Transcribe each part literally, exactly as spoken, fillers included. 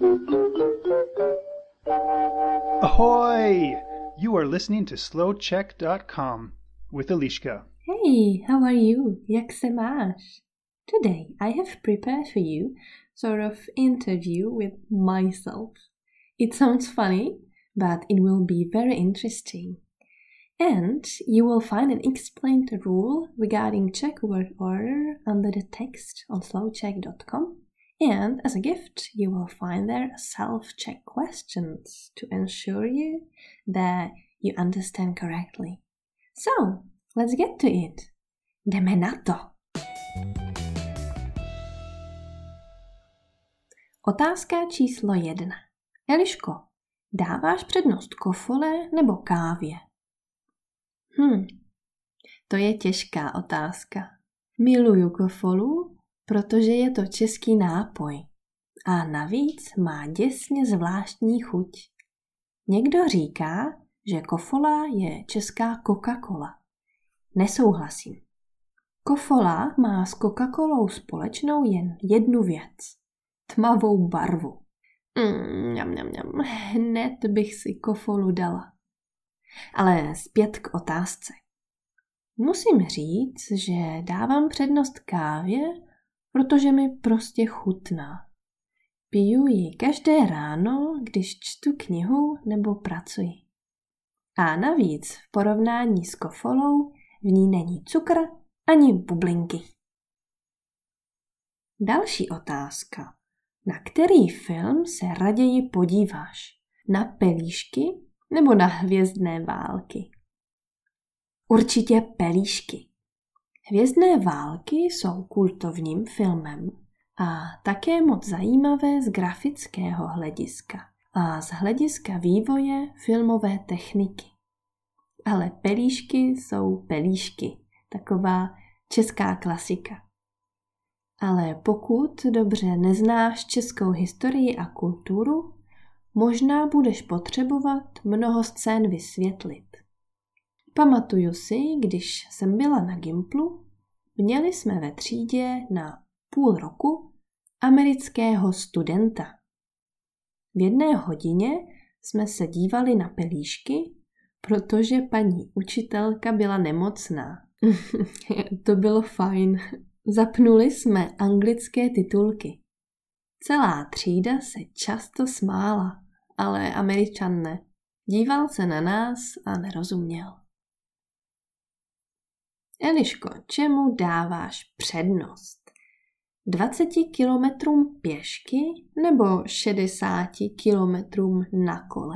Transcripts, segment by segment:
Ahoy! You are listening to slow check dot com with Eliška. Hey, how are you? Jak se máš? Today I have prepared for you sort of interview with myself. It sounds funny, but it will be very interesting. And you will find an explained rule regarding Czech word order under the text on slow check dot com. And as a gift, you will find there self-check questions to ensure you that you understand correctly. So, let's get to it. Jdeme na to. Otázka číslo jedna. Eliško, dáváš přednost kofole nebo kávě? Hm, to je těžká otázka. Miluju kofolu, protože je to český nápoj a navíc má děsně zvláštní chuť. Někdo říká, že kofola je česká Coca-Cola. Nesouhlasím. Kofola má s Coca-Colou společnou jen jednu věc. Tmavou barvu. Mm, mňam, mňam, mňam. Hned bych si kofolu dala. Ale zpět k otázce. Musím říct, že dávám přednost kávě, protože mi prostě chutná. Piju ji každé ráno, když čtu knihu nebo pracuji. A navíc v porovnání s kofolou v ní není cukr ani bublinky. Další otázka. Na který film se raději podíváš? Na Pelíšky nebo na Hvězdné války? Určitě Pelíšky. Hvězdné války jsou kultovním filmem a také moc zajímavé z grafického hlediska a z hlediska vývoje filmové techniky. Ale Pelíšky jsou Pelíšky, taková česká klasika. Ale pokud dobře neznáš českou historii a kulturu, možná budeš potřebovat mnoho scén vysvětlit. Pamatuju si, když jsem byla na Gimplu, měli jsme ve třídě na půl roku amerického studenta. V jedné hodině jsme se dívali na Pelíšky, protože paní učitelka byla nemocná. To bylo fajn. Zapnuli jsme anglické titulky. Celá třída se často smála, ale Američan ne. Díval se na nás a nerozuměl. Eliško, čemu dáváš přednost? dvaceti kilometrům pěšky nebo šedesáti kilometrům na kole?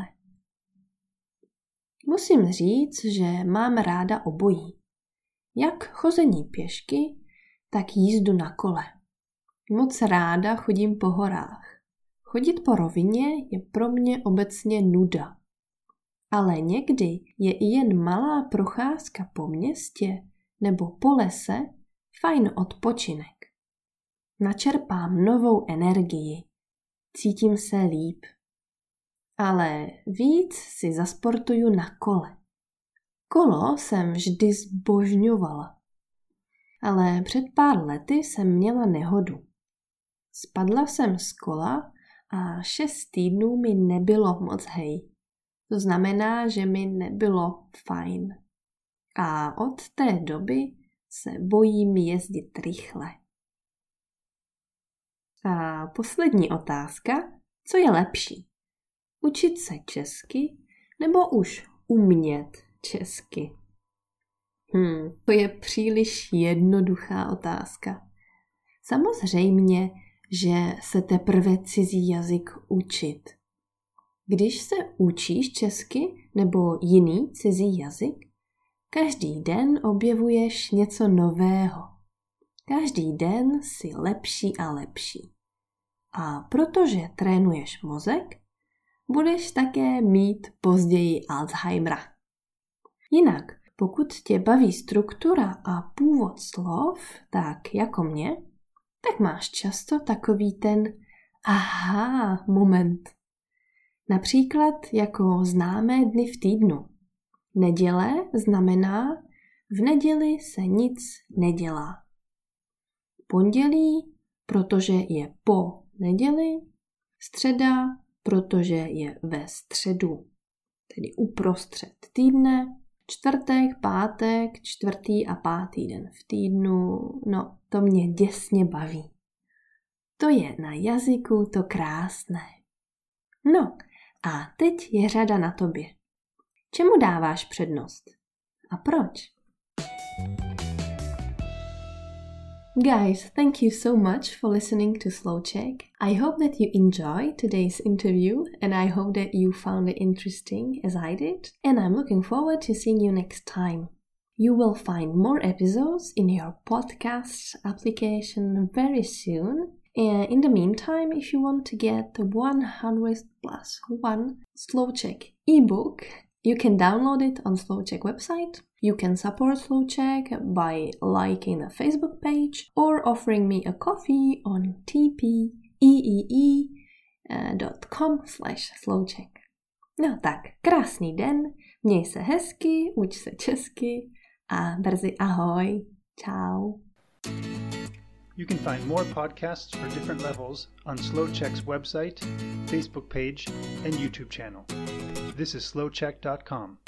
Musím říct, že mám ráda obojí. Jak chození pěšky, tak jízdu na kole. Moc ráda chodím po horách. Chodit po rovině je pro mě obecně nuda. Ale někdy je i jen malá procházka po městě nebo po lese fajn odpočinek. Načerpám novou energii. Cítím se líp. Ale víc si zasportuju na kole. Kolo jsem vždy zbožňovala. Ale před pár lety jsem měla nehodu. Spadla jsem z kola a šest týdnů mi nebylo moc hej. To znamená, že mi nebylo fajn. A od té doby se bojím jezdit rychle. A poslední otázka, co je lepší? Učit se česky nebo už umět česky? Hmm, to je příliš jednoduchá otázka. Samozřejmě, že se teprve cizí jazyk učit. Když se učíš česky nebo jiný cizí jazyk, každý den objevuješ něco nového. Každý den jsi lepší a lepší. A protože trénuješ mozek, budeš také mít později Alzheimera. Jinak, pokud tě baví struktura a původ slov, tak jako mě, tak máš často takový ten aha moment. Například jako známé dny v týdnu. Neděle znamená v neděli se nic nedělá. Pondělí, protože je po neděli, Středa, protože je ve středu, tedy uprostřed týdne. Čtvrtek, pátek, čtvrtý a pátý den v týdnu, no to mě děsně baví. To je na jazyku to krásné. No a teď je řada na tobě. Čemu dáváš přednost? A proč? Guys, thank you so much for listening to Slow Czech. I hope that you enjoyed today's interview and I hope that you found it interesting as I did. And I'm looking forward to seeing you next time. You will find more episodes in your podcast application very soon. And in the meantime, if you want to get the one hundred plus one Slow Czech ebook, you can download it on Slow Czech website. You can support Slow Czech by liking the Facebook page or offering me a coffee on tpee dot com slash slowczech. No tak, krásný den, měj se hezky, uč se česky a brzy ahoj. Čau. You can find more podcasts for different levels on Slow Czech's website, Facebook page, and YouTube channel. This is slow czech dot com.